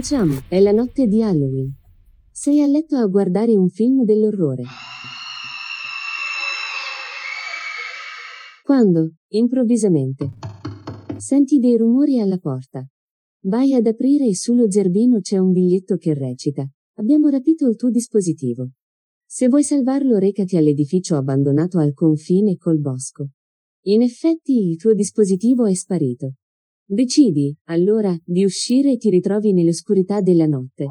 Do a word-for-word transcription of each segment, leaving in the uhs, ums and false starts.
Cominciamo, è la notte di Halloween. Sei a letto a guardare un film dell'orrore. Quando, improvvisamente, senti dei rumori alla porta. Vai ad aprire e sullo zerbino c'è un biglietto che recita: abbiamo rapito il tuo dispositivo. Se vuoi salvarlo recati all'edificio abbandonato al confine col bosco. In effetti il tuo dispositivo è sparito. Decidi, allora, di uscire e ti ritrovi nell'oscurità della notte.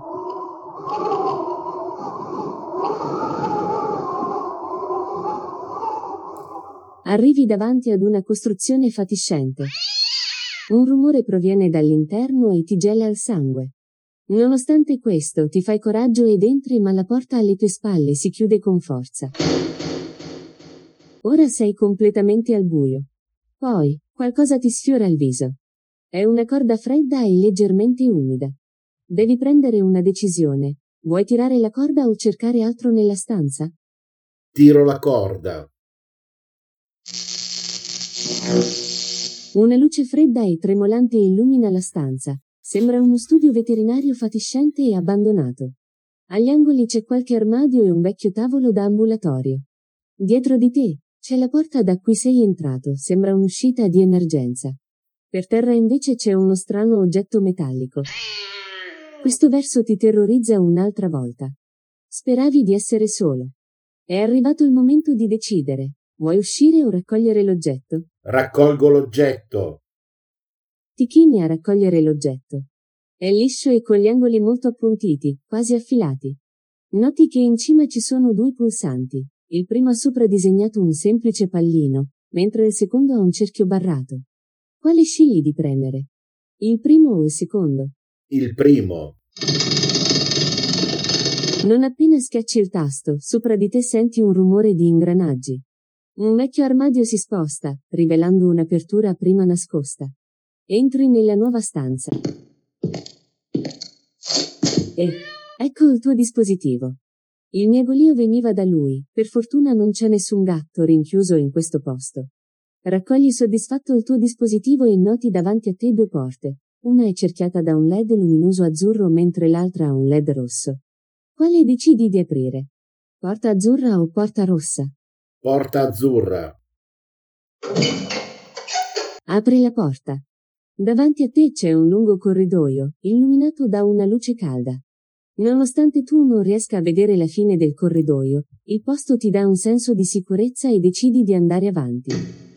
Arrivi davanti ad una costruzione fatiscente. Un rumore proviene dall'interno e ti gela il sangue. Nonostante questo, ti fai coraggio ed entri, ma la porta alle tue spalle si chiude con forza. Ora sei completamente al buio. Poi, qualcosa ti sfiora il viso. È una corda fredda e leggermente umida. Devi prendere una decisione. Vuoi tirare la corda o cercare altro nella stanza? Tiro la corda. Una luce fredda e tremolante illumina la stanza. Sembra uno studio veterinario fatiscente e abbandonato. Agli angoli c'è qualche armadio e un vecchio tavolo da ambulatorio. Dietro di te c'è la porta da cui sei entrato, sembra un'uscita di emergenza. Per terra invece c'è uno strano oggetto metallico. Questo verso ti terrorizza un'altra volta. Speravi di essere solo. È arrivato il momento di decidere. Vuoi uscire o raccogliere l'oggetto? Raccolgo l'oggetto. Ti chini a raccogliere l'oggetto. È liscio e con gli angoli molto appuntiti, quasi affilati. Noti che in cima ci sono due pulsanti. Il primo ha sopra disegnato un semplice pallino, mentre il secondo ha un cerchio barrato. Quale scegli di premere? Il primo o il secondo? Il primo. Non appena schiacci il tasto, sopra di te senti un rumore di ingranaggi. Un vecchio armadio si sposta, rivelando un'apertura prima nascosta. Entri nella nuova stanza. E ecco il tuo dispositivo. Il miagolio veniva da lui, per fortuna non c'è nessun gatto rinchiuso in questo posto. Raccogli soddisfatto il tuo dispositivo e noti davanti a te due porte. Una è cerchiata da un L E D luminoso azzurro mentre l'altra ha un L E D rosso. Quale decidi di aprire? Porta azzurra o porta rossa? Porta azzurra. Apri la porta. Davanti a te c'è un lungo corridoio, illuminato da una luce calda. Nonostante tu non riesca a vedere la fine del corridoio, il posto ti dà un senso di sicurezza e decidi di andare avanti.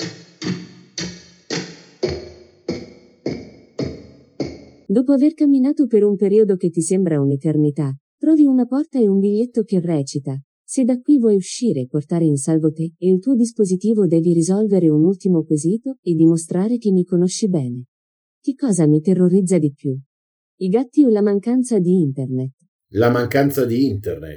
Dopo aver camminato per un periodo che ti sembra un'eternità, trovi una porta e un biglietto che recita: se da qui vuoi uscire e portare in salvo te e il tuo dispositivo devi risolvere un ultimo quesito e dimostrare che mi conosci bene. Che cosa mi terrorizza di più? I gatti o la mancanza di internet? La mancanza di internet.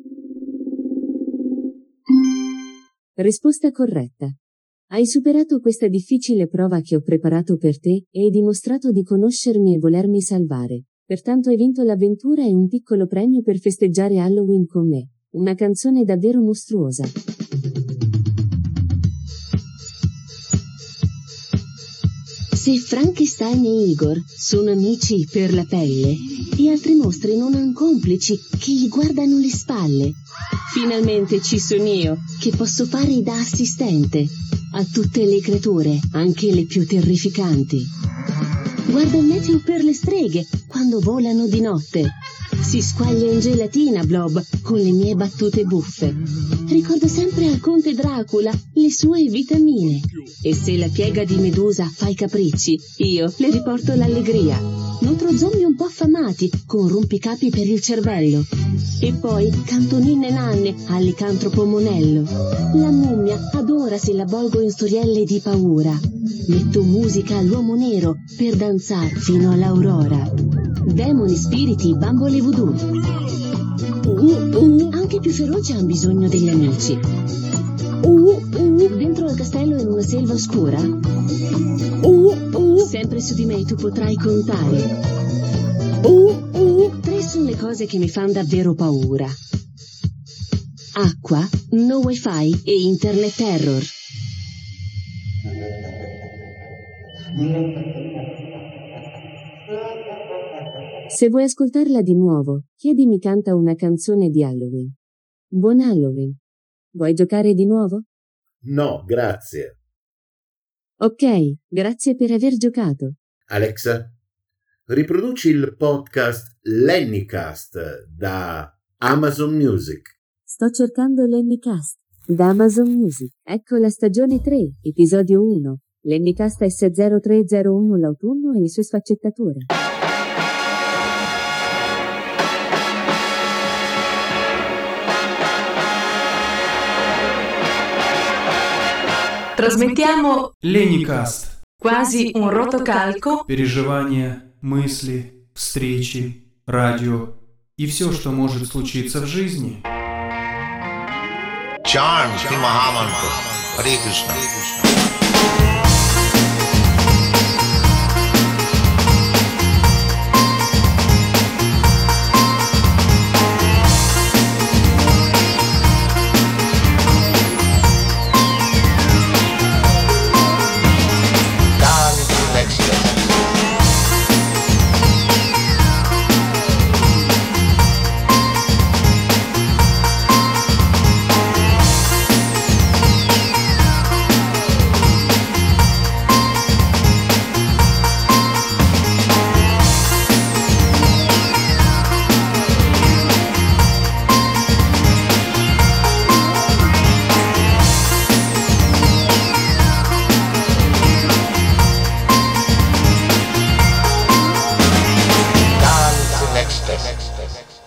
Risposta corretta. Hai superato questa difficile prova che ho preparato per te e hai dimostrato di conoscermi e volermi salvare. Pertanto hai vinto l'avventura e un piccolo premio per festeggiare Halloween con me. Una canzone davvero mostruosa. Se Frankenstein e Igor sono amici per la pelle, e altri mostri non han complici che gli guardano le spalle, finalmente ci sono io, che posso fare da assistente a tutte le creature, anche le più terrificanti. Guarda il meteo per le streghe quando volano di notte. Si squaglia in gelatina Blob con le mie battute buffe. Ricordo sempre al conte Dracula le sue vitamine. E se la piega di Medusa fa i capricci, io le riporto l'allegria. Nutro zombie un po' affamati con rompicapi per il cervello. E poi canto ninne nanne al licantropo Monello. La mummia adora se la avvolgo in storielle di paura. Metto musica all'uomo nero per danzare fino all'aurora. Demoni, spiriti, bambole voodoo. Anche i più feroci hanno bisogno degli amici. Dentro al castello in una selva oscura, sempre su di me tu potrai contare. Tre sono le cose che mi fanno davvero paura: acqua, no wifi e internet terror. Se vuoi ascoltarla di nuovo, chiedimi canta una canzone di Halloween. Buon Halloween. Vuoi giocare di nuovo? No, grazie. Ok, grazie per aver giocato. Alexa, riproduci il podcast Lennycast da Amazon Music. Sto cercando Lennycast da Amazon Music. Ecco la stagione tre, episodio uno. Lennycast S zero tre zero uno, l'autunno e le sue sfaccettature. Trasmettiamo Lennycast. Quasi un rotocalco. Переживания, мысли, встречи, радио и все, что может случиться в жизни. Charm Shri Mahamantra. Hare Krishna. Next, next, next.